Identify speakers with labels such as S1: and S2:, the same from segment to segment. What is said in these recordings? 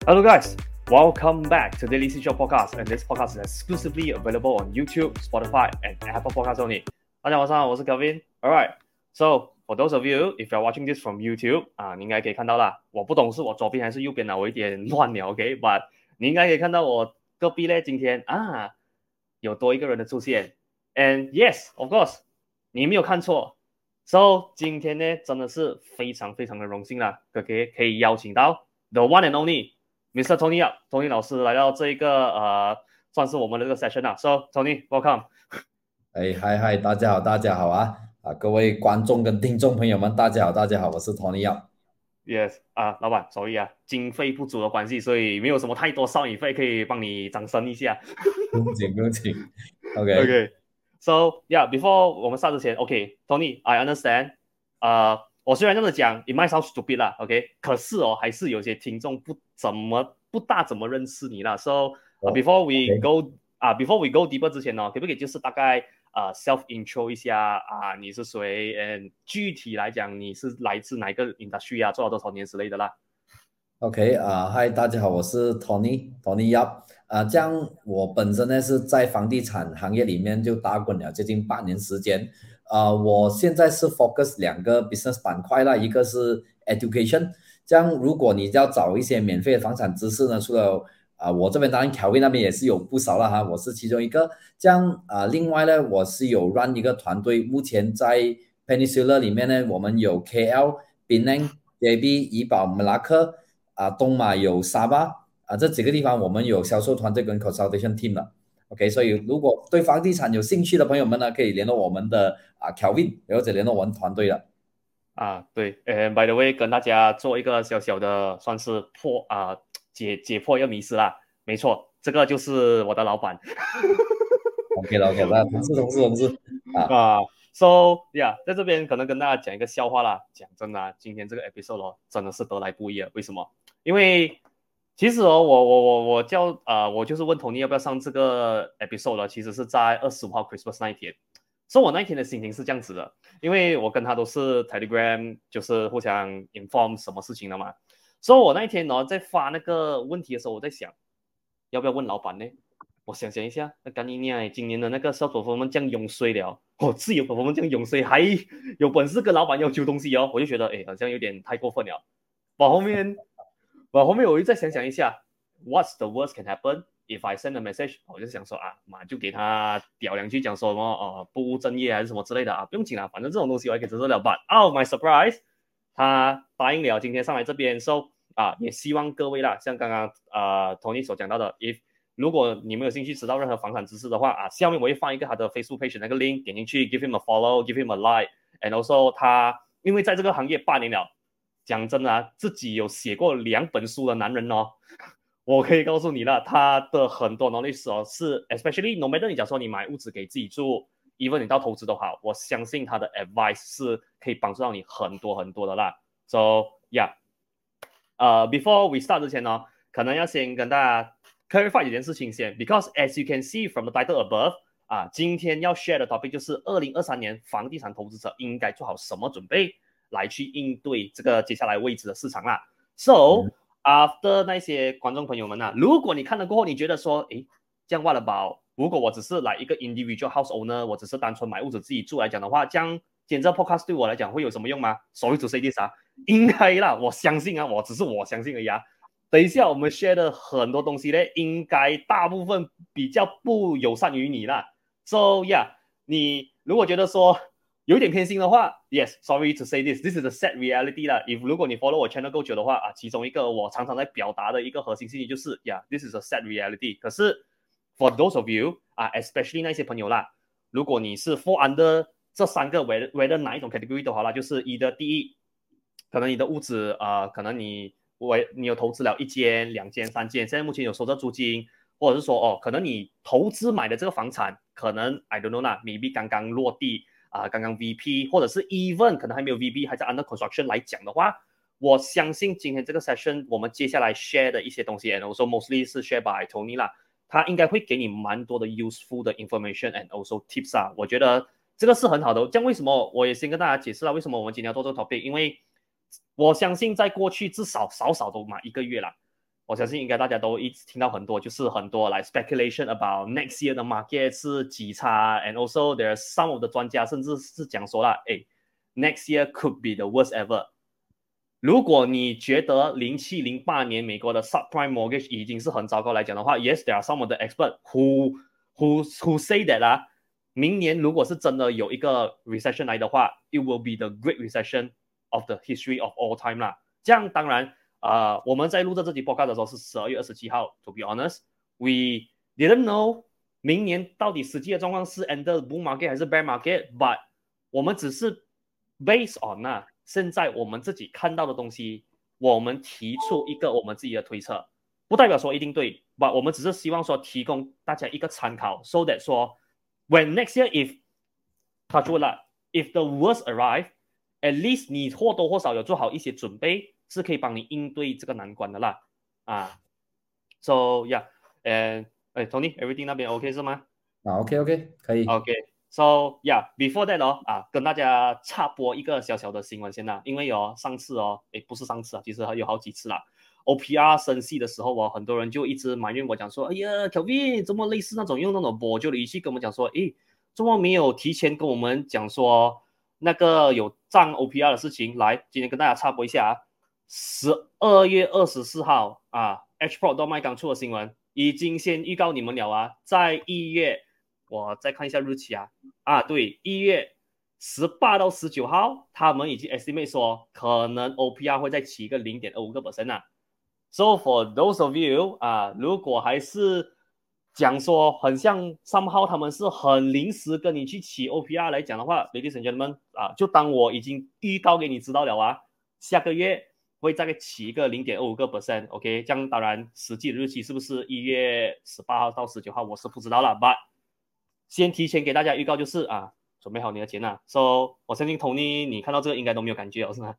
S1: Hello guys, welcome back to Daily Seashore Podcast, and this podcast is exclusively available on YouTube, Spotify, and Apple Podcasts only. 大家晚上好，我是 Kevin. Alright, so for those of you, if you're watching this from YouTube, 你应该可以看到啦。我不懂是我左邊還是右邊啦，我有點亂了 ，OK? But 你應該可以看到我隔壁咧，今天有多一個人的出現。And yes, of course, 你沒有看錯。So 今天呢，真的是非常非常的榮幸啦，可以邀請到 the one and only。Mr. Tony Tony 老師來到這一個算是我們的這個 session 啦。So Tony, welcome.
S2: 嗨，大家好啊！各位觀眾跟聽眾朋友們，大家好，我是 Tony
S1: Yes 老闆 ，sorry 經費不足的關係，所以沒有什麼太多sound effect可以幫你掌聲一下。
S2: 不用緊。
S1: Okay. So yeah, before 我們start之前 ，OK, Tony, I understand. 我雖然這麼講 ，it might sound stupid 啦 ，OK， 可是還是有些聽眾不大怎麼認識你啦。So before we go deeper 之前呢，可不可以就是大概self intro 一下你是誰 ，and 具體來講你是來自哪一個 industry 做了多少年之類的啦。
S2: OK， 嗨，大家好，我是 Tony Yap。這樣我本身呢是在房地產行業裡面就打滾了接近8年時間。我現在是 focus 2個 business 板塊啦，一個是 education。這樣如果你要找一些免費的房產知識呢，除了我這邊當然 Kelvin 那邊也是有不少啦哈，我是其中一個。這樣另外呢，我是有 run 一個團隊，目前在 Peninsula 裡面呢，我們有 KL、Penang、JB、怡保、Melaka。東馬有沙巴這幾個地方我們有銷售團隊跟 consultation team 了 OK， 所以如果對房地產有興趣的朋友們呢，可以聯絡我們的Kelvin 或者聯絡我們團隊了
S1: 對by the way 跟大家做一個小小的算是解破一個迷思啦，沒錯，這個就是我的老闆。
S2: OK 那同事
S1: So yeah， 在這邊可能跟大家講一個笑話啦。講真的今天這個 episode 真的是得來不易了。為什麼？因為其實我就是問 Tony 要不要上這個 episode 了，其實是在25號 Christmas 那一天。所以我那一天的心情是這樣子的，因為我跟他都是 Telegram， 就是互相 inform 什麼事情的嘛。所以我那一天在發那個問題的時候，我在想要不要問老闆呢？我想一下，幹你娘！今年的那個 sales performance 這樣湧水了，自由 performance 這樣湧水，還有本事跟老闆要求東西我就覺得好像有點太過分了。後面我又再想一下 ，What's the worst can happen if I send a message？ 我就想說馬就給他屌兩句，講說什麼不務正業還是什麼之類的不用緊啦，反正這種東西我還可以接受了。But my surprise， 他答應了今天上來這邊 ，so 也希望各位啦，像剛剛Tony 所講到的 ，if如果你們有興趣知道任何房產知識的話下面我會放一個他的 Facebook page 那個 link， 點進去 give him a follow， give him a like，and also 他因為在這個行業8年了，講真的自己有寫過2本書的男人我可以告訴你了，他的很多 knowledge 是 especially no matter 你假如說你買屋子給自己住 even 你到投資都好，我相信他的 advice 是可以幫助到你很多很多的啦。 So yeah， before we start 之前呢，可能要先跟大家clarify 這件事情先 ，because as you can see from the title above， 今天要 share 的 topic 就是2023年房地產投資者應該做好什麼準備來去應對這個接下來未知的市場啦。So after 那些觀眾朋友們如果你看了過後，你覺得說，這樣 what about 如果我只是來一個 individual house owner， 我只是單純買屋子自己住來講的話，這樣剪這 podcast 對我來講會有什麼用嗎？ Sorry to say this 應該啦，我相信我相信而已等一下我們 share 的很多東西呢，應該大部分比較不友善於你啦。So yeah， 你如果覺得說有點偏心的話 ，yes， sorry to say this is a sad reality 啦。如果你 follow 我 channel 夠久的話其中一個我常常在表達的一個核心信息就是 ，this is a sad reality。可是 for those of you especially 那些朋友啦，如果你是 fall under 這3個 whether 哪一種 category 都好啦，就是第一，可能你的屋子可能你有投資了1間、2間、3間，現在目前有收着租金，或者是說可能你投資買的這個房產，可能 I don't know 啦 ，maybe 剛剛落地剛剛 VP， 或者是 even 可能還沒有 VP， 還在 under construction 來講的話，我相信今天這個 session 我們接下來 share 的一些東西 ，and also mostly 是 share by Tony 啦，他應該會給你蠻多的 useful 的 information and also tips 我覺得這個是很好的。這樣為什麼我也先跟大家解釋了為什麼我們今天要做這個 topic， 因為我相信在過去至少少都1個月啦， 我相信应該大家都一直聽到很多，就是很多like speculation about next year 的 market 是幾差 ，and also there are some of the 專家甚至是講說啦，誒 ，next year could be the worst ever。如果你覺得07、08年美國的 subprime mortgage 已經是很糟糕來講的話 ，yes there are some of the experts who say that 啦，明年如果是真的有一個 recession 來的話 ，it will be the great recession of the history of all time 啦。這樣當然。我們在錄這集 podcast 的時候是12月27號 ，to be honest we didn't know 明年到底實際的狀況是 enter bull market 還是 bear market，but 我們只是 based on 現在我們自己看到的東西，我們提出一個我們自己的推測，不代表說一定對 ，but 我們只是希望說提供大家一個參考 ，so that 說 when next year if touch wood 啦 if the worst arrive at least 你或多或少有做好一些準備。是可以幫你應對這個難關的啦，so yeah， Tony everything 那邊 OK 是嗎
S2: ？OK 可以。
S1: OK，so yeah，before that 跟大家插播一個小小的新聞先啦，因為上次不是上次其實有好幾次啦 ，OPR 升息的時候很多人就一直埋怨我講說，哎呀 ，Kelvin 怎麼類似那種用那種borjo的語氣跟我們講說，怎麼沒有提前跟我們講說那個有漲 OPR 的事情？來，今天跟大家插播一下12月24號HPROD.my 剛出的新聞，已經先預告你們了在1月，我再看一下日期對，1月18到19號，他們已經 estimate 說可能 OPR 會再起一個 0.25% So for those of you 如果還是講說很像somehow他們是很臨時跟你去起 OPR 來講的話 ，Ladies and gentlemen 就當我已經預告給你知道了下個月會再起一個 0.25%，OK， 這樣當然實際的日期是不是1月18號到19號我是不知道了 ，but 先提前給大家預告就是準備好你的錢，so 我相信 Tony 你看到這個應該都沒有感覺是嗎？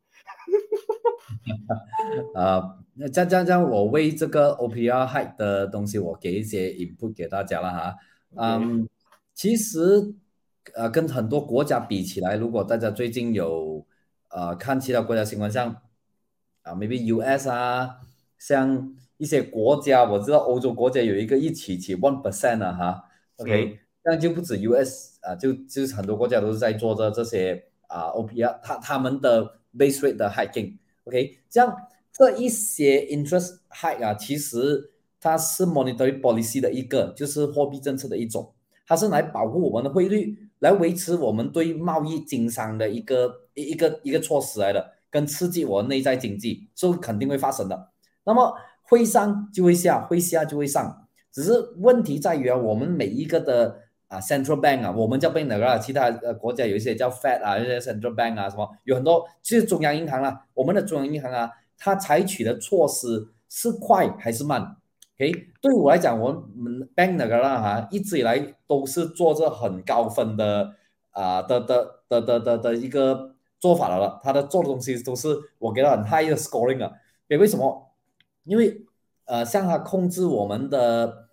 S2: 這樣我為這個 OPR hike 的東西我給一些 input 給大家了其實跟很多國家比起來，如果大家最近有看其他國家新聞像maybe US 像一些國家，我知道歐洲國家有一個一起 1% OK，這樣就不止 US 就是很多國家都是在做着這些OPR 他們的 base rate 的 hiking OK， 這樣這一些 interest hike 其實它是 monetary policy 的一個，就是貨幣政策的一種，它是來保護我們的匯率，來維持我們對貿易經商的一個措施來的，跟刺激我的內在經濟，所以肯定會發生的。那麼會上就會下，會下就會上，只是問題在於我們每一個的central bank 我們叫 bank 的其他國家有一些叫 Fed 有一些 central bank 什麼，有很多就是中央銀行我們的中央銀行它採取的措施是快還是慢 ？OK， 對我來講，我們 bank 的一直以來都是做着很高分的的一個做法了，它的做的東西都是我給它很 high 的 scoring 為什麼？因為像它控制我們的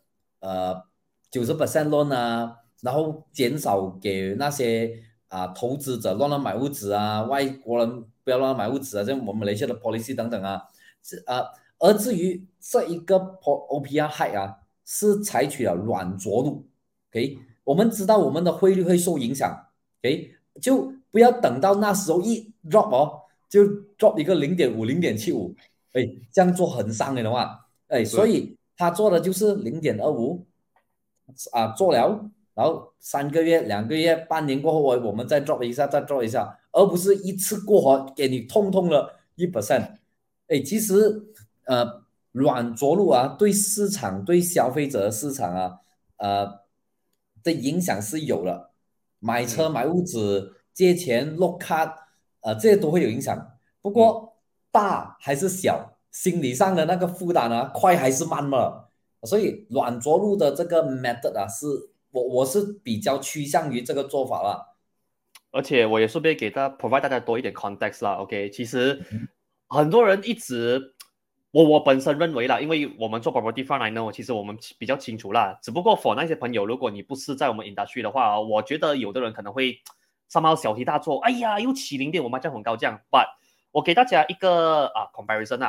S2: 90% loan然後減少給那些投資者亂買屋子外國人不要亂買屋子像我們馬來西亞的 policy 等等而至於這一個 OPR hike 是採取了軟着陸 ，OK， 我們知道我們的匯率會受影響 ，OK， 就不要等到那時候一 drop 就 drop 一個0.5、0.75， 這樣做很傷的話，所以他做的就是0.25做了。然後3個月、2個月、半年過後，我們再 drop 一下，再 drop 一下，而不是一次過給你通了 1%。其實軟着陸對市場、對消費者的市場的影響是有了。買車、買屋子、借錢、lock card 這些都會有影響。不過大還是小，心理上的那個負擔快還是慢嘛。所以軟着陸的這個 method 是。我是比較趨向於這個做法啦，
S1: 而且我也順便給provide 大家多一點 context 啦 ，OK， 其實很多人一直，我本身認為啦，因為我們做 property fund 呢，其實我們比較清楚啦，只不過 for 那些朋友，如果你不是在我們 industry 的話，我覺得有的人可能會somehow小題大做，哎呀，又起0.5%這樣很高這樣 ，but 我給大家一個comparison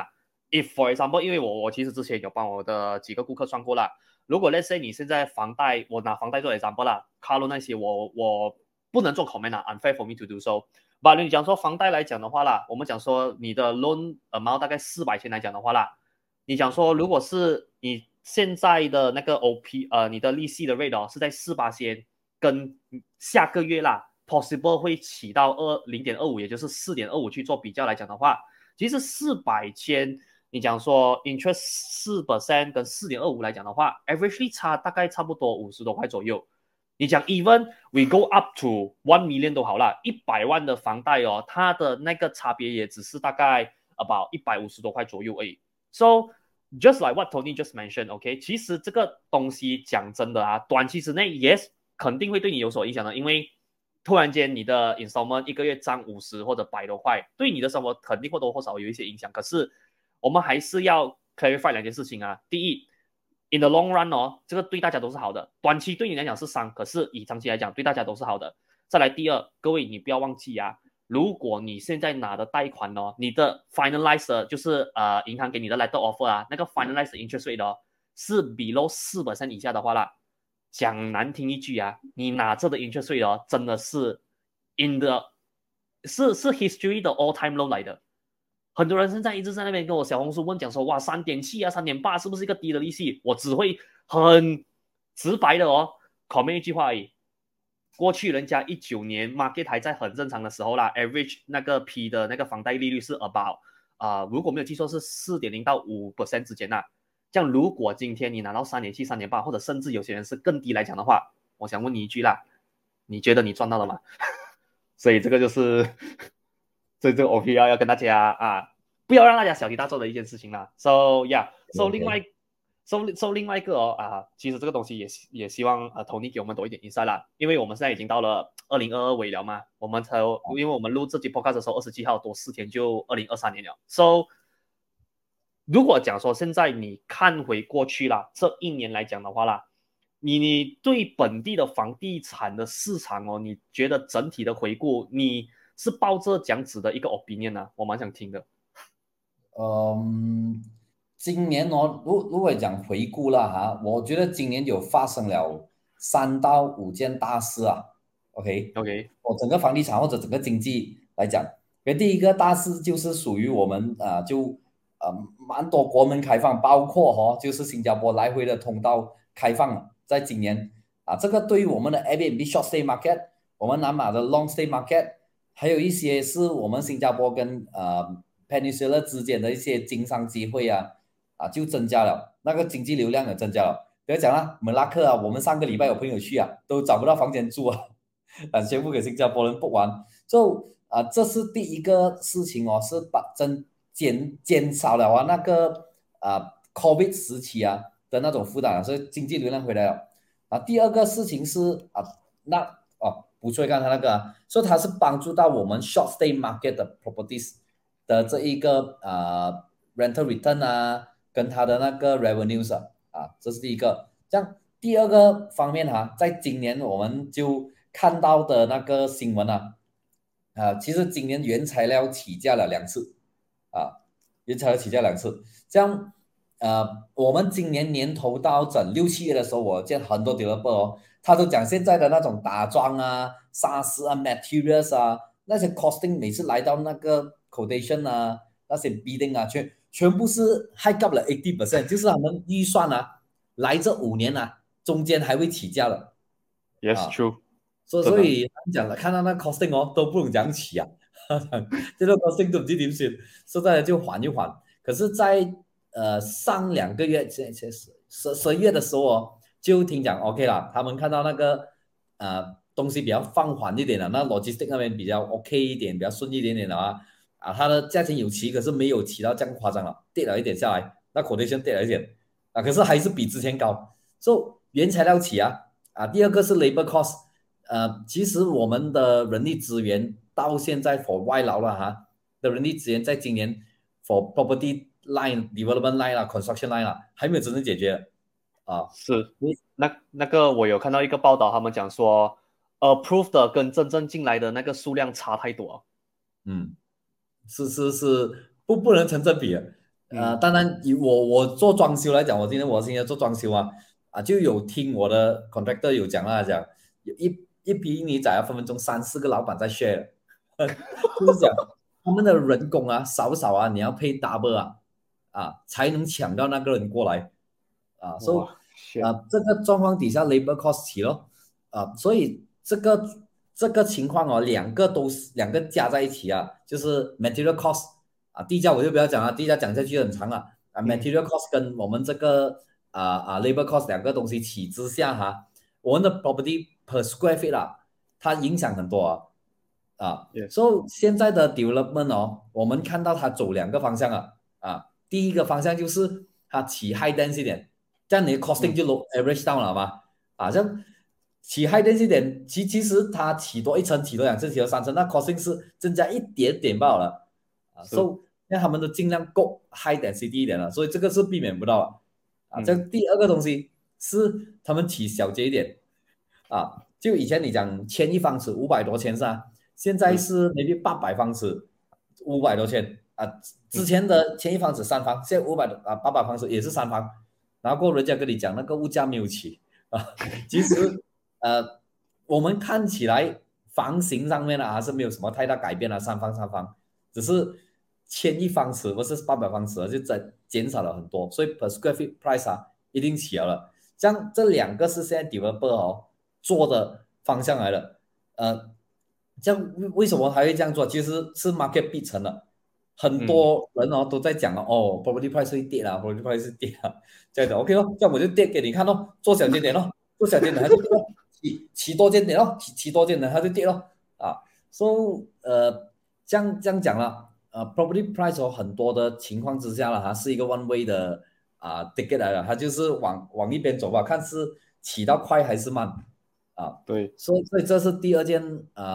S1: if for example，因為我其實之前有幫我的幾個顧客算過啦，如果 let's say 你現在房貸，我拿房貸做 example 啦，car loan 那些我不能做 comment 啊 ，unfair for me to do so。But 你講說房貸來講的話啦，我們講說你的 loan amount 大概400千來講的話啦，你講說如果是你現在的那個 OP 你的利息的 rate 哦是在4%，跟下個月啦 possible 會起到0.25，也就是4.25去做比較來講的話，其實400千。你講說 interest 4% 跟4.25來講的話 ，averagely 大概差不多50多塊左右。你講 even we go up to 1 million 都好啦，100萬的房貸哦，它的那個差別也只是大概 about 150多塊左右而已。So just like what Tony just mentioned，OK，其實這個東西講真的啊，短期之內 yes 肯定會對你有所影響的，因為突然間你的 installment 一個月漲50或者100多塊，對你的生活肯定或多或少有一些影響。可是我們還是要 clarify 兩件事情啊。第一 ，in the long run 哦，這個對大家都是好的。短期對你來講是傷，可是以長期來講對大家都是好的。再來第二，各位你不要忘記啊，如果你現在拿的貸款哦，你的 finalized 就是銀行給你的 letter offer 啊，那個 finalized interest rate 哦是 below 4% 以下的話啦，講難聽一句啊，你拿着的 interest rate 哦真的是 是 history 的 all time low 來的。很多人現在一直在那邊跟我小紅書問講說，哇3.7啊3.8是不是一個低的利息？我只會很直白的哦 comment 一句話而已。過去人家19年 market 還在很正常的時候啦 ，average 那個 P 的那個房貸利率是 about 如果沒有記錯是4.0到5% 之間啦。這樣如果今天你拿到3.7、3.8，或者甚至有些人是更低來講的話，我想問你一句啦，你覺得你賺到了嗎？所以這個就是所以這個 OPL 要跟大家不要讓大家小題大做的一件事情啦。So yeah，so 另外一個其實這個東西也希望Tony 給我們多一點 insight 啦，因為我們現在已經到了2022尾了嘛，因為我們錄這集 podcast 的時候27號多4天就2023年了。So 如果講說現在你看回過去啦，這一年來講的話啦，你對本地的房地產的市場哦，你覺得整體的回顧，你是抱着這樣子的一個 opinion 啊？我蠻想聽的。
S2: 今年哦，如果講回顧了哈，我覺得今年有發生了3到5件大事啊。OK，我整個房地產或者整個經濟來講，第一個大事就是屬於我們蠻多國門開放，包括就是新加坡來回的通道開放了，在今年這個對於我們的 Airbnb short stay market， 我們南馬的 long stay market， 還有一些是我們新加坡跟Peninsula 之間的一些經商機會就增加了，那個經濟流量也增加了。不要講了，Melaka我們上個禮拜有朋友去都找不到房間住全部給新加坡人 book 完。這是第一個事情哦，是減少了那個COVID 時期的那種負擔所以經濟流量回來了。第二個事情是補充剛才那個所以它是幫助到我們 short stay market 的 properties 的這一個rental return跟它的那個 revenues 這是第一個。這樣第二個方面在今年我們就看到的那個新聞其實今年原材料起價了2次原材料起價2次。這樣我們今年年頭到整6、7月的時候，我見很多 developer 他都講現在的那種打樁砂石materials 那些 costing 每次來到那個 quotation 那些 bidding 全部是 high up 了 80%， 就是他們預算來這5年中間還會起價的。
S1: Yes, true。
S2: 所以講了，看到那 costing 都不能講起這個 costing 都不知點算，現在就緩一緩。可是在上2個月11月的時候就聽講 OK 了，他們看到那個東西比較放緩一點了，那 logistic 那邊比較 OK 一點，比較順一點點的它的價錢有起，可是沒有起到這樣誇張了，跌了一點下來，那 quotation 跌了一點可是還是比之前高。原材料起第二個是 labor cost， 其實我們的人力資源到現在 for 外勞了的人力資源在今年 for property line development line construction line 還沒有真正解決
S1: 是那個我有看到一個報道，他們講說 approved 的跟真正進來的那個數量差太多。
S2: 是不能成正比的。 當然以我做裝修來講，我現在做裝修就有聽我的 contractor 有講啦，講有一批泥仔分分鐘3-4個老闆在 share， 就是講他們的人工少你要配 double 才能搶到那個人過來所以這個狀況底下 labor cost 起咯所以這個情況兩個加在一起就是 material cost 地價我就不要講了，地價講下去很長了material cost 跟我們這個labor cost 兩個東西起之下我們的 property per square feet 它影響很多所以現在的 development 我們看到它走兩個方向第一個方向就是它起 high density 點，這樣你的 costing 就 average down 了嘛這樣起 high density 點其實它起多一層起多兩層起多三層那 costing 是增加一點點罷了所以那他們都盡量夠 high density 一點了，所以這個是避免不到這樣第二個東西是他們起小節一點就以前你講1000一方尺500多千是現在是 maybe 800方尺500多千之前的1000一方尺3房，現在800方尺也是3房，然後人家跟你講那個物價沒有起其實我們看起來房型上面是沒有什麼太大改變3房，只是1000一方尺不是800方尺就減少了很多，所以 per square feet price 一定起了。這樣這兩個是現在 developer 做的方向來的這樣為什麼還會這樣做？其實是 market 逼成了，很多人都在講property price 會跌property price 會跌這樣子 OK 咯，這樣我就跌給你看咯，做小間點咯，做小間點它就跌咯，起多間點咯，起多間點它就跌咯所以這樣講了property price 很多的情況之下了它是一個 one way 的ticket 來了，它就是往一邊走吧，看是起到快還是慢
S1: 對，
S2: 所以這是第二件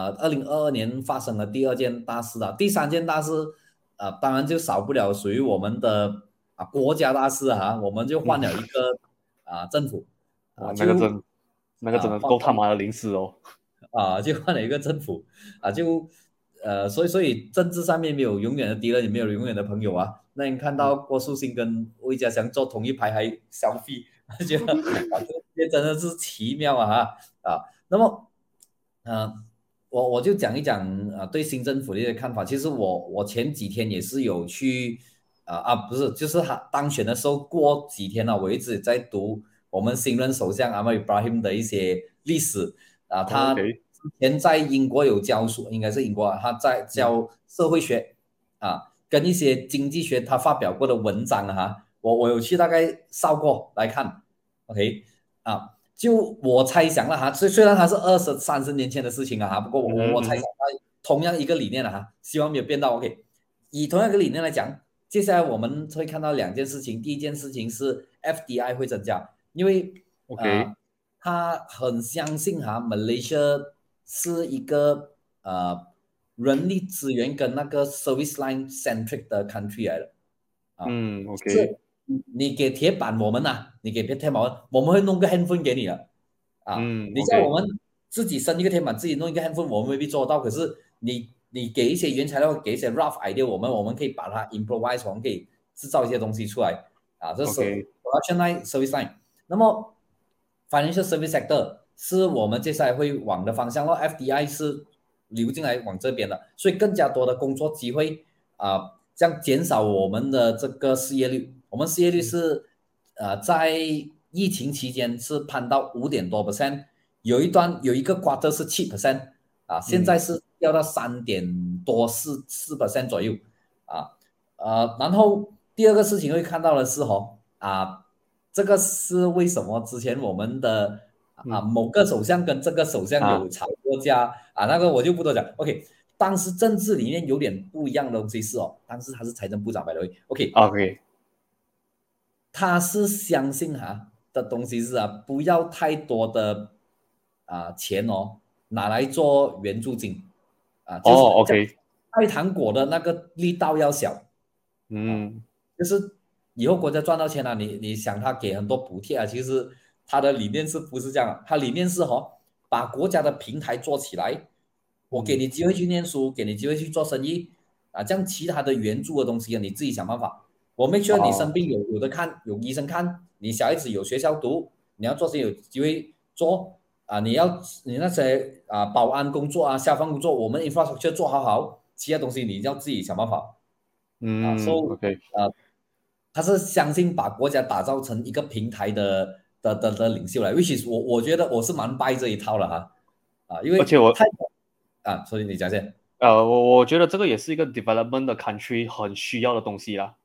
S2: 2022年發生的第二件大事第三件大事當然就少不了屬於我們的國家大事我們就換了一個政府
S1: 那個真的夠他媽的臨時
S2: 就換了一個政府所以政治上面沒有永遠的敵人，也沒有永遠的朋友那你看到郭樹興跟魏家祥坐同一排還selfie，覺得這真的是奇妙那麼我就講一講對新政府的一些看法。其實我前幾天也是有去不是，就是他當選的時候過幾天我一直在讀我們新任首相Anwar Ibrahim的一些歷史他之前在英國有教書，應該是英國他在教社會學跟一些經濟學他發表過的文章我有去大概掃過來看 OK就我猜想了雖然它是20-30年前的事情不過我猜想同樣一個理念希望沒有變到 OK。以同樣一個理念來講，接下來我們會看到兩件事情。第一件事情是 FDI 會增加，因為他很相信Malaysia 是一個人力資源跟那個 service line centric 的 country 來的
S1: OK。
S2: 你給鐵板我們你給鐵板我們會弄個 handphone 給你的你叫我們自己生一個鐵板，自己弄一個 handphone 我們未必做到，可是你給一些原材料，給一些 rough idea 我們可以把它 improvise， 我們可以製造一些東西出來這是 production line service line。 那麼 financial service sector 是我們接下來會往的方向FDI 是流進來往這邊的，所以更加多的工作機會這樣減少我們的這個失業率。我們失業率是在疫情期間是攀到5.多%，有一個 quarter 是7%現在是掉到3.多4% 左右然後第二個事情會看到的是這個是為什麼之前我們的某個首相跟這個首相有吵過架那個我就不多講 OK。當時政治裡面有點不一樣的東西是當時他是財政部長by the way OK 他是相信的東西是不要太多的錢拿來做援助金
S1: OK
S2: 派糖果的那個力道要小就是以後國家賺到錢你想他給很多補貼其實他的理念是不是這樣他理念是把國家的平台做起來，我給你機會去念書，給你機會去做生意這樣其他的援助的東西你自己想辦法我 make sure 你生病有的看，有醫生看，你小孩子有學校讀，你要做些有機會做你那些保安工作消防工作，我們 infrastructure 做好，其他東西你要自己想辦法
S1: OK，
S2: 他是相信把國家打造成一個平台的領袖來 ，which is 我覺得我是蠻 buy 這一套了因為
S1: 而且
S2: 所以你講先。
S1: 我覺得這個也是一個 development 的 country 很需要的東西啦。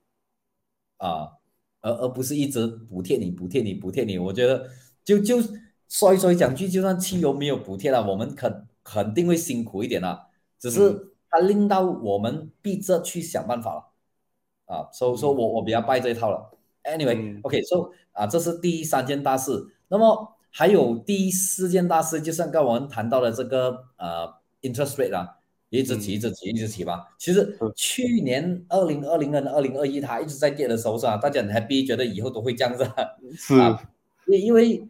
S2: 而不是一直補貼你，我覺得就說講句，就算汽油沒有補貼了，我們肯定會辛苦一點啦，只是它令到我們逼着去想辦法了所以我比較 buy 這一套了。Anyway，OK，這是第3件大事，那麼還有第4件大事，就像剛我們談到的這個interest rate 一直起吧。其實去年2020跟2021它一直在跌的時候大家很 happy， 覺得以後都會這樣子因為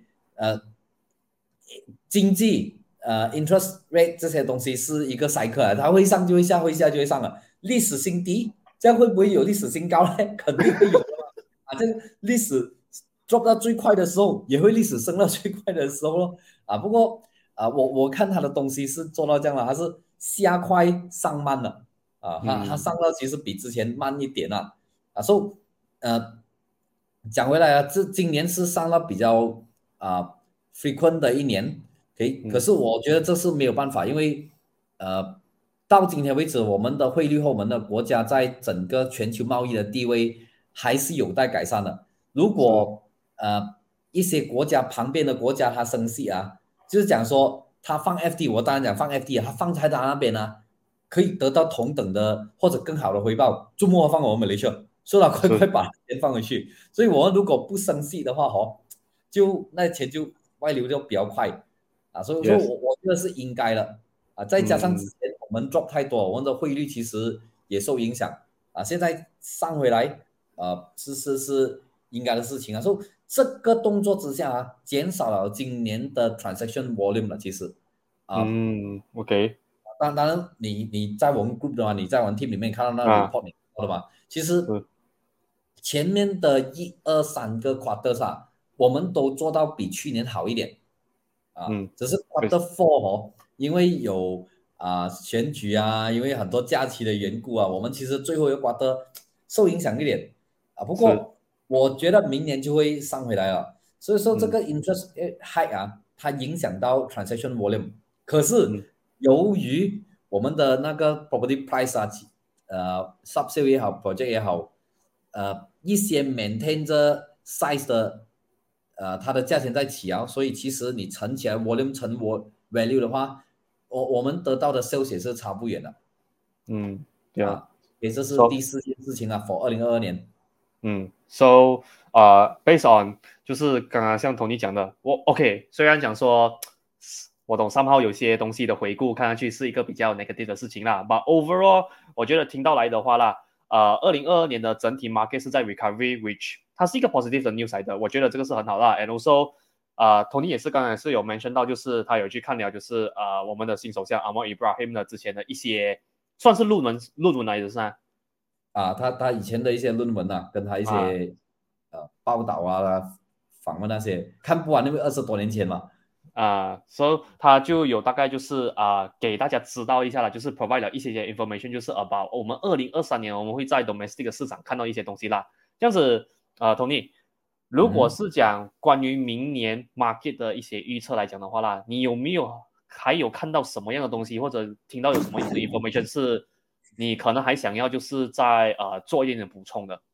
S2: 經濟interest rate 這些東西是一個 cycle 它會上就會下，會下就會上了。歷史新低，這樣會不會有歷史新高呢？肯定會有的這個歷史 drop 到最快的時候，也會歷史升到最快的時候咯不過我看它的東西是做到這樣了，它是下快上慢了它上到其實比之前慢一點所以講回來今年是上到比較frequent 的一年可是我覺得這是沒有辦法，因為到今天為止，我們的匯率和我們的國家在整個全球貿易的地位還是有待改善的。如果一些國家旁邊的國家它升息就是講說他放 FD， 我當然講放 FD 他放在他那邊可以得到同等的或者更好的回報，周末放我們馬來西亞，所以他快把錢放回去。所以我們如果不升息的話就那錢就外流就比較快所以說我覺得是應該的再加上之前我們 drop 太多，我們的匯率其實也受影響現在上回來是應該的事情所以這個動作之下減少了今年的 transaction volume 了，其實
S1: OK，
S2: 當然你在我們 group 的話，你在我們 team 裡面看到那個 report 你看到的嘛其實前面的1、2、3個 quarters 我們都做到比去年好一點只是 quarter 4因為有選舉因為很多假期的緣故我們其實最後一個 quarter 受影響一點不過我覺得明年就會上回來了，所以說這個 interest hike 它影響到 transaction volume， 可是由於我們的那個 property price subsale 也好 project 也好一些 maintain 着 size 的它的價錢在起所以其實你乘起來 volume 乘 value 的話我們得到的 sales 也是差不遠的這是第4件事情for 2022年
S1: So based on 就是剛剛像 Tony 講的OK 雖然講說我懂somehow有些東西的回顧看上去是一個比較 negative 的事情啦 but overall 我覺得聽到來的話啦2022年的整體 market 是在 recovery which 它是一個 positive 的 news 來的，我覺得這個是很好啦 and also Tony 也是剛才是有 mention 到就是他有去看了就是我們的新首相 Anwar Ibrahim 的之前的一些算是論文來的是吧
S2: 他以前的一些論文跟他一些報道訪問那些看不完，因為20多年前嘛
S1: 所以他就有大概就是給大家知道一下了，就是 provide 了一些 information， 就是 about 我們2023年我們會在 domestic 的市場看到一些東西啦。這樣子Tony， 如果是講關於明年 market 的一些預測來講的話啦，你有沒有還有看到什麼樣的東西，或者聽到有什麼樣的 information 是你可能還想要就是在做一點點補充的？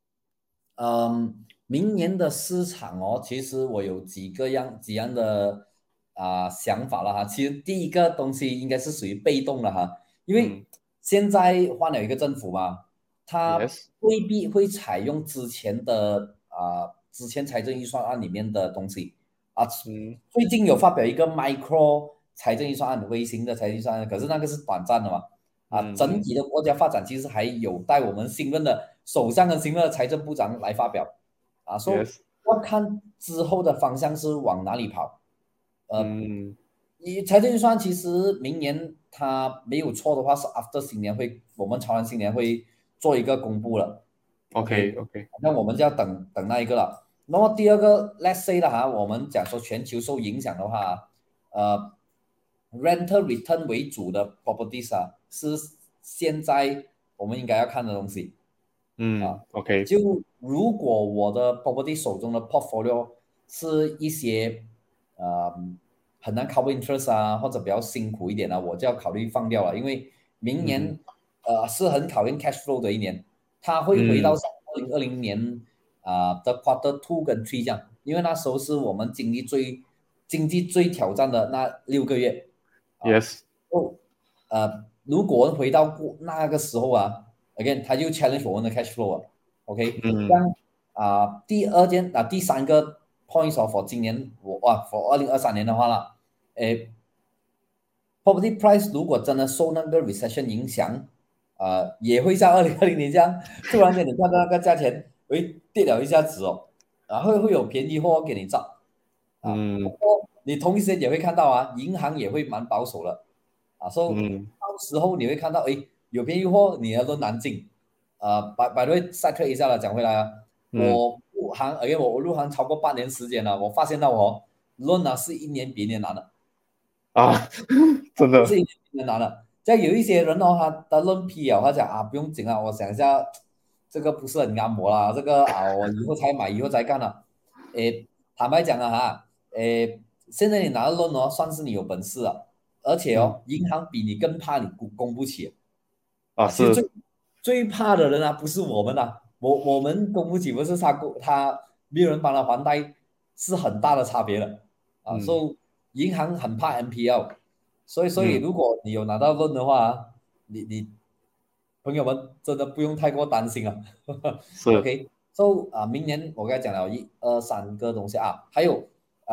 S2: 明年的市場其實我有幾樣的想法了其實第一個東西應該是屬於被動的因為現在換了一個政府嘛，它未必會採用之前財政預算案裡面的東西最近有發表一個 micro 財政預算案，微型的財政預算案，可是那個是短暫的嘛整體的國家發展其實還有待我們新任的首相跟新任的財政部長來發表所以要看之後的方向是往哪裡跑財政預算其實明年它沒有錯的話是 after 新年我們潮南新年會做一個公布了
S1: OK OK，
S2: 那我們就要等那一個了。那麼第二個 let's say 的哈，我們講說全球受影響的話，rental return 為主的 properties 啊，是現在我們應該要看的東西。
S1: OK，
S2: 就如果我的 property 手中的 portfolio 是一些很難 cover interest 啊，或者比較辛苦一點啊，我就要考慮放掉了，因為明年是很考驗 cash flow 的一年，它會回到2020年的 quarter 2跟3這樣，因為那時候是我們經濟最挑戰的那6個月。
S1: Yes。
S2: 如果回到那個時候啊 ，again 它就 challenge 我們的 cash flow 啊 ，OK，這樣第三個 points for 今年for 2023年的話啦，property price 如果真的受那個 recession 影響，也會像2020年這樣，突然間你看到那個價錢會跌了一下子哦，然後會有便宜貨給你找，你同一時間也會看到啊，銀行也會蠻保守的。所以到時候你會看到，有便宜貨，你的輪難進。by the way side track 一下了，講回來啊，我入行超過8年時間了，我發現到輪是一年比一年難的。
S1: 真的
S2: 是一年比一年難的。像有一些人他的輪批他講不用緊啊，我想一下，這個不是很啱我啦，這個我以後才買，以後再幹了。坦白講啊現在你拿到輪算是你有本事了。而且銀行比你更怕你供不起其實最怕的人不是我們我們供不起，不是他沒有人幫他還貸，是很大的差別的所以銀行很怕 NPL， 所以如果你有拿到 loan 的話，你朋友們真的不用太過擔心OK， 明年我剛才講了1、2、3個東西還有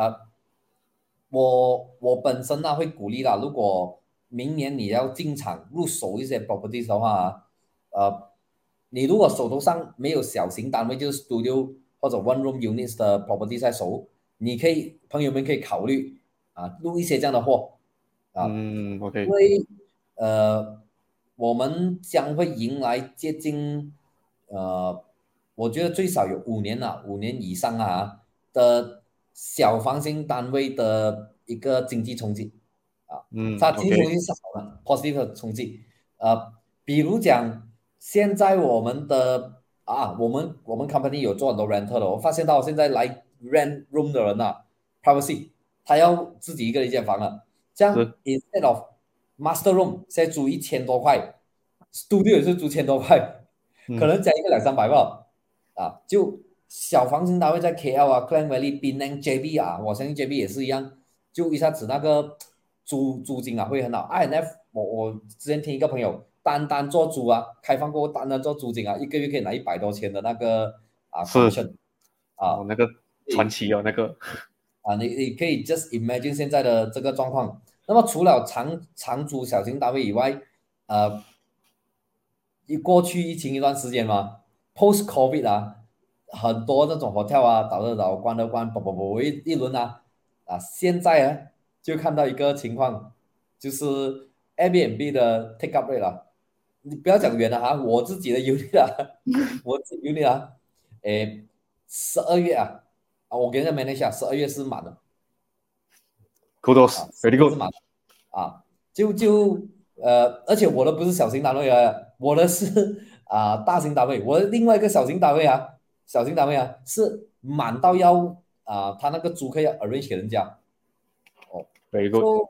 S2: 我本身會鼓勵啦，如果明年你要進場入手一些 properties 的話你如果手頭上沒有小型單位，就是 studio 或者 one room units 的 property 在手，朋友們可以考慮入一些這樣的貨
S1: OK，
S2: 因為我們將會迎來接近我覺得最少有5年以上的小房型單位的一個經濟衝擊它經濟衝擊是好的positive 的衝擊比如講現在我們的我們 company 有做很多 rental 的，我發現到現在來 rent room 的人privacy 他要自己一個人一間房了，這樣 instead of master room 現在租1000多塊，studio 也是租1000多塊，可能加一個200-300吧就小房型單位在 KL Klang Valley、Penang、JB 我相信 JB 也是一樣，就一下子那個租金會很好。INF 我之前聽一個朋友單做租開放過後單做租金一個月可以拿100多千的那個commission
S1: 那個傳奇那個
S2: 你可以 just imagine 現在的這個狀況。那麼除了長租小型單位以外過去疫情一段時間嘛 post COVID 很多那種 hotel 倒的倒關的關一輪現在就看到一個情況，就是 Airbnb 的 take up rate 你不要講遠了我自己的 unit 我自己 unit 12月我給人家 manage 一下，12月是滿的。
S1: Kudos very good
S2: 而且我的不是小型單位我的是大型單位，我的另外一個小型單位是滿到要他那個租客要 arrange 給人家
S1: very good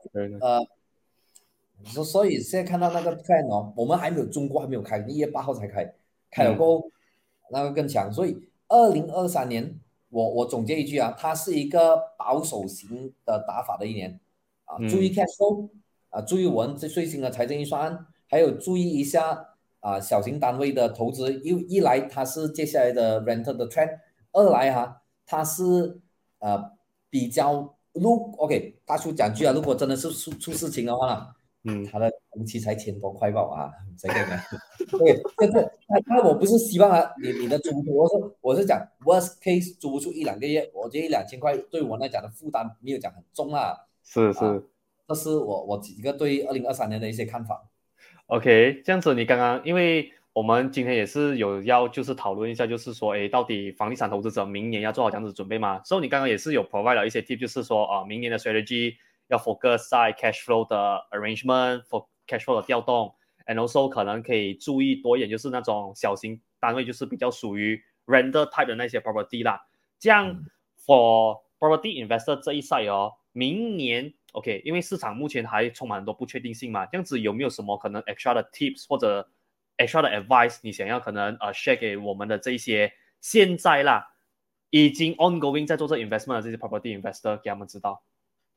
S2: 所以現在看到那個 plan 我們還沒有中國還沒有開，1月8號才開了過後那個更強，所以2023年我總結一句它是一個保守型的打法的一年注意 cash flow注意我們最新的財政預算案，還有注意一下小型單位的投資，一來它是接下來的 rental 的 trend， 二來它是比較OK 大叔講句如果真的是出事情的話他的工期才1000多塊吧這個對，那我不是希望你的租戶，我是講 worst case 租不出1-2個月，我覺得1-2000塊對我來講的負擔沒有講很重
S1: 是
S2: 這是我幾個對2023年的一些看法。
S1: OK， 這樣子你剛剛因為我們今天也是有要就是討論一下，就是說，誒，到底房地產投資者明年要做好這樣子準備嗎？所以你剛剛也是有 provide 了一些 tip，就是說，明年的 strategy 要 focus 在 cash flow 的 arrangement，for cash flow 的調動，and also 可能可以注意多一點，就是那種小型單位，就是比較屬於 render type 的那些 property 啦。這樣 for property investor 這一 side 哦，明年 OK，因為市場目前還充滿很多不確定性嘛，這樣子有沒有什麼可能 extra 的 tips 或者extra 的 advice， 你想要可能share 給我們的這一些現在啦，已經 ongoing 在做這 investment 的這些 property investor， 給他們知道。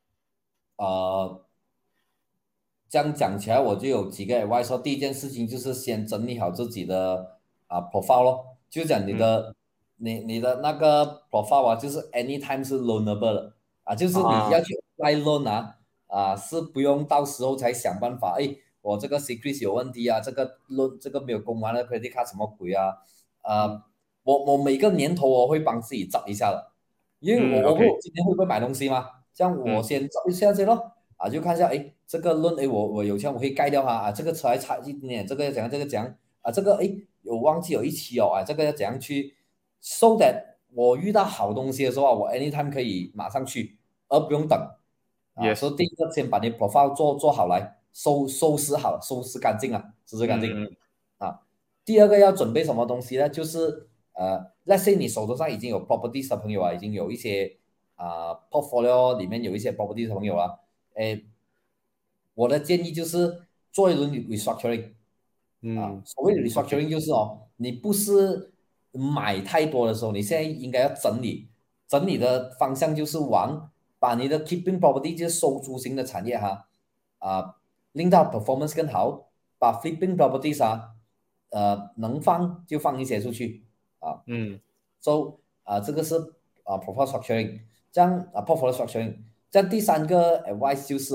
S2: 這樣講起來，我就有幾個 advice。說第一件事情就是先整理好自己的profile 咯，就講你的那個 profile 啊，就是 anytime 是 loanable 的就是你要去 apply loan 是不用到時候才想辦法。我這個 secret 有問題啊，這個 loan 這個沒有供完的 credit card 什麼鬼啊？我每個年頭我會幫自己找一下的，因為我今天會不會買東西嘛？這樣我先找一下先咯。就看一下，這個 loan，我有錢我可以蓋掉它這個車還差一點點，這個要怎樣，這個怎樣這個有忘記有一期這個要怎樣去 ，so that 我遇到好東西的時候我 anytime 可以馬上去，而不用等。所以第一個先把你 profile 做好來，收拾好，收拾乾淨收拾乾淨。第二個要準備什麼東西呢？就是let's say 你手頭上已經有 properties 的朋友已經有一些portfolio 裡面有一些 properties 的朋友了。我的建議就是做一輪 restructuring。所謂的 restructuring 就是你不是買太多的時候，你現在應該要整理的方向就是把你的 keeping property 就是收租型的產業令到 performance 更好，把 flipping properties 能放就放一些出去so 這個是portfolio structuring， 這樣portfolio structuring。這樣第三個 advice 就是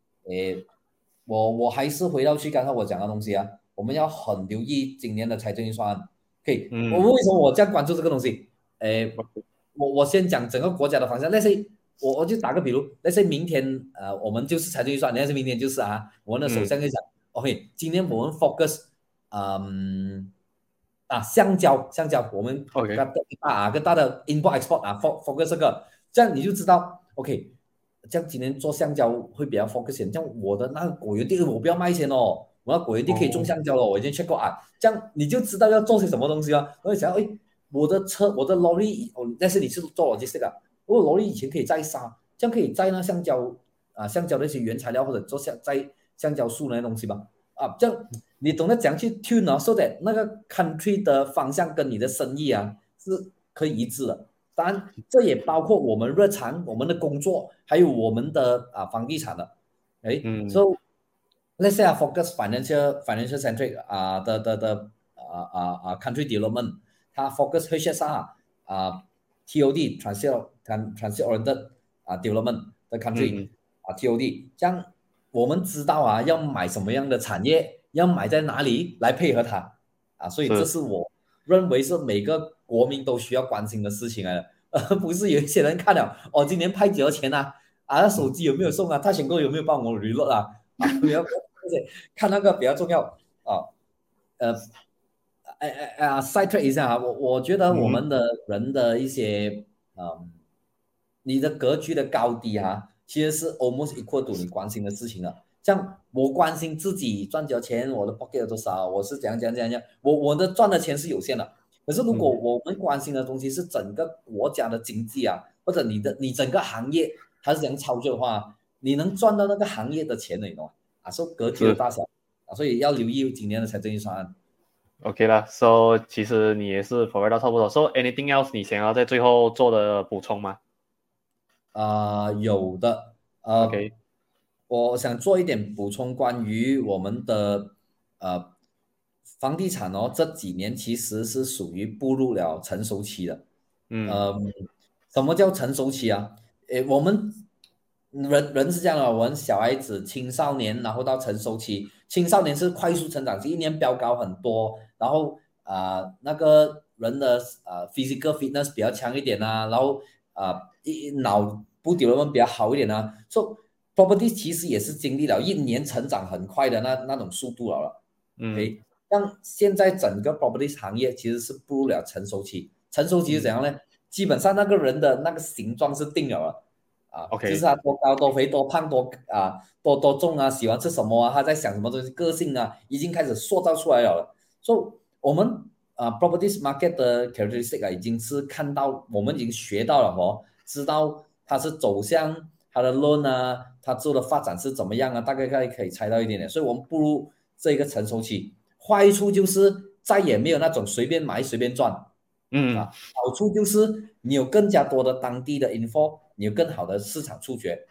S2: 我還是回到去剛才我講的東西我們要很留意今年的財政預算案。我們為什麼我這樣關注這個東西？我先講整個國家的方向。let's say 我就打個比如 let's say 明天我們就是財政預算，let's say 明天就是我們的首相就講OK， 今年我們 focus 橡膠我們更大的 import export focus 這個，這樣你就知道 OK。這樣今年做橡膠會比較 focus， 這樣我的那個果園地我不要賣錢我的果園地可以種橡膠了我已經 check 過這樣你就知道要做些什麼東西我就想我的車我的 lorry， 但是你是做 logistics 我 lorry 以前可以載沙，這樣可以載那橡膠的一些原材料或者做載橡膠樹那些東西吧這樣你懂得怎樣去 tune so that 那個 country 的方向跟你的生意是可以一致的。當然，這也包括我們日常、我們的工作，還有我們的房地產的。So let's say focus financial centric 的country development， 它 focus HSR TOD transit oriented development 的 country TOD， 這樣我們知道要買什麼樣的產業，要買在哪裡來配合它所以這是我認為是每個國民都需要關心的事情來的，而不是有一些人看了今年派幾多錢那手機有沒有送他選購有沒有幫我reload看那個比較重要side track 一下我覺得我們的人的一些你的格局的高低其實是 almost equal to 你關心的事情了。像我關心自己賺多少錢，我的 pocket 有多少，我是怎樣，我的賺的錢是有限的。可是如果我們關心的東西是整個國家的經濟或者你整個行業它是怎樣操作的話，你能賺到那個行業的錢你懂嗎所以格局的大小所以要留意今年的財政預算案。
S1: OK 了 ，So 其實你也是 provide 到差不多。So anything else 你想要在最後做的補充嗎？
S2: 有的
S1: OK。
S2: 我想做一點補充，關於我們的房地產這幾年其實是屬於步入了成熟期的。什麼叫成熟期我們人是這樣的，我們小孩子、青少年，然後到成熟期。青少年是快速成長期，一年飆高很多，然後那個人的physical fitness 比較強一點然後腦部 development 比較好一點So property 其實也是經歷了一年成長很快的那種速度了。 像現在整個 property 行業其實是步入了成熟期，成熟期是怎樣呢？基本上那個人的那個形狀是定了就是他多高多肥多胖多重啊，喜歡吃什麼啊，他在想什麼東西，個性啊，已經開始塑造出來了。所以我們property market 的 characteristic 已經是看到，我們已經學到了知道它是走向它的 loan 啊，它之後的發展是怎麼樣啊，大概可以猜到一點點。所以我們步入這個成熟期，壞處就是再也沒有那種隨便買隨便賺。好處就是你有更加多的當地的 info， 你有更好的市場觸覺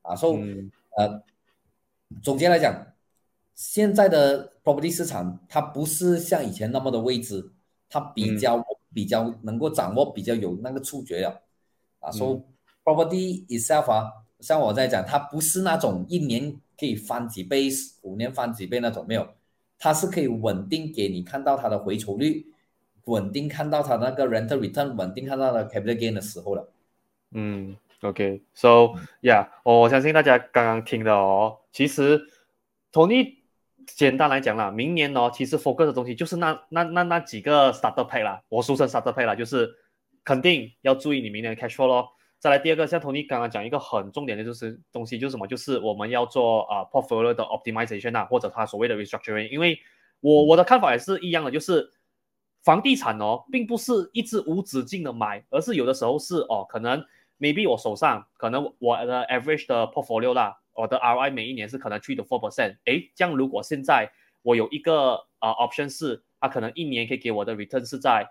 S2: 總結來講，現在的 property 市場它不是像以前那麼的未知，它比較能夠掌握，比較有那個觸覺了所以 property itself 像我在講，它不是那種一年可以翻幾倍，5年翻幾倍那種，沒有，它是可以穩定給你看到它的回酬率，穩定看到它那個 rental return， 穩定看到它的 capital gain 的時候了。
S1: OK，so yeah，我相信大家剛剛聽的其實 Tony 簡單來講啦，明年其實 focus 的東西就是那幾個 starter pack 啦，我俗稱 starter pack 啦，就是肯定要注意你明年的 cash flow 咯。再來第二個，像 Tony 剛剛講一個很重點的就是東西就是什麼，就是我們要做portfolio 的 optimization 或者他所謂的 restructuring， 因為我的看法也是一樣的，就是房地產並不是一直無止境的買，而是有的時候是可能 maybe 我手上可能我的 average 的 portfolio 啦，我的 ROI 每一年是可能 3 to 4%， 這樣如果現在我有一個option 是它可能一年可以給我的 return 是在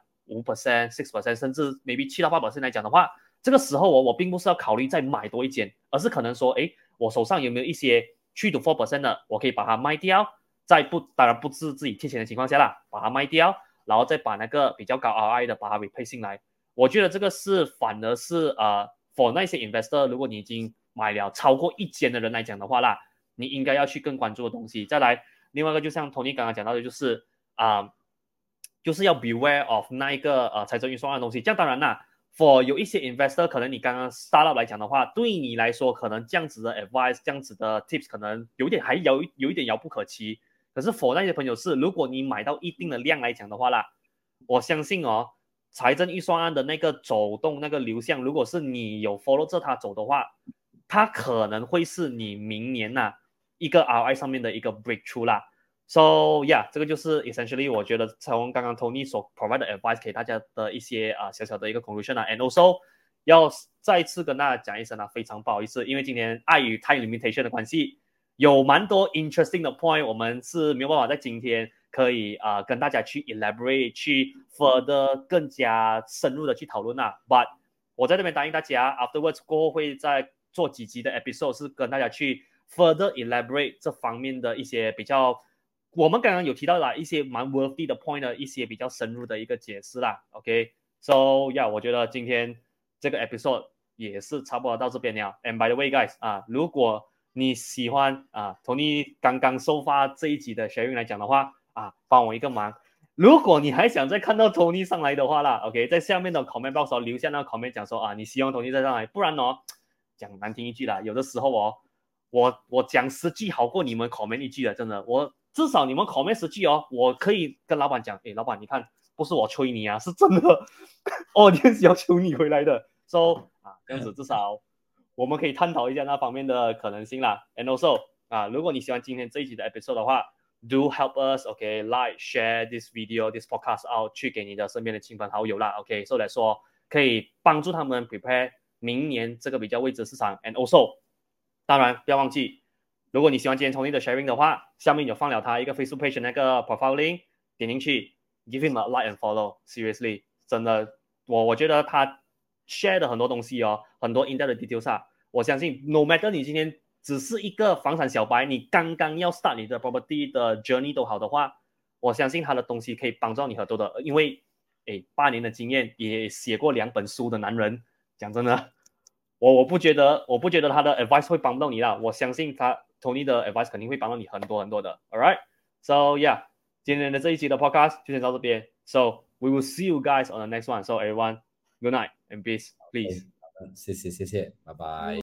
S1: 5%、6%， 甚至 maybe 7到8% 來講的話，這個時候我並不是要考慮再買多一間，而是可能說我手上有沒有一些3 to 4% 的，我可以把它賣掉，當然不是自己貼錢的情況下啦，把它賣掉，然後再把那個比較高 ROI 的把它 replace 進來。我覺得這個是反而是for 那些 investor， 如果你已經買了超過一間的人來講的話啦，你應該要去更關注的東西。再來，另外一個就像 Tony 剛剛講到的，就是就是要 beware of 那一個財政預算案的東西。這樣當然啦 ，for 有一些 investor 可能你剛剛 startup 來講的話，對你來說可能這樣子的 advice， 這樣子的 tips 可能有一點遙不可及。可是 for 那些朋友是，如果你買到一定的量來講的話啦，我相信財政預算案的那個走動那個流向，如果是你有 follow 着它走的話，它可能會是你明年一個 ROI 上面的一個 breakthrough 啦。So yeah， 這個就是 essentially 我覺得從剛剛 Tony 所 provide 的 advice 給大家的一些小小的一個 conclusion and also 要再一次跟大家講一聲非常不好意思，因為今天礙於 time limitation 的關係，有蠻多 interesting 的 point， 我們是沒有辦法在今天可以跟大家去 elaborate， 去 further 更加深入的去討論But 我在這邊答應大家 afterwards 過後會再做幾集的 episode， 是跟大家去 further elaborate 這方面的一些比較，我們剛剛有提到一些蠻 worthy 的 point 的一些比較深入的一個解釋啦。OK，so yeah， 我覺得今天這個 episode 也是差不多到這邊了。And by the way guys，如果你喜歡Tony 剛剛收發這一集的 sharing 來講的話幫我一個忙，如果你還想再看到 Tony 上來的話啦 ，OK， 在下面的 comment box 留下那個 comment 講說你希望 Tony 再上來，不然講難聽一句啦，有的時候我講10句好過你們 comment 一句的，真的，我至少你們 comment 10句我可以跟老闆講，老闆你看，不是我催你是真的audience要求你回來的 ，so 這樣子至少我們可以探討一下那方面的可能性啦。And also 如果你喜歡今天這一集的 episode 的話，do help us like share this video this podcast out 去給你的身邊的親朋好友啦。so 來說可以幫助他們 prepare 明年這個比較未知市場。And also 當然不要忘記，如果你喜歡今天 Tony 的 sharing 的話，下面有放了他一個 Facebook page 那個 profile link， 點進去 give him a like and follow。 Seriously 真的我覺得他 share 的很多東西很多 in-depth 的 details 我相信 no matter 你今天只是一個房產小白，你剛剛要 start 你的 property 的 journey 都好的話，我相信他的東西可以幫助你很多的。因為8年的經驗，也寫過2本書的男人，講真的，我不覺得他的 advice 會幫到你啦。我相信他 Tony 的 advice 肯定會幫到你很多很多的。Alright， so yeah， 今天的這一期的 podcast 就先到這邊。So we will see you guys on the next one. So everyone, good night and peace, please.
S2: 謝謝，拜拜。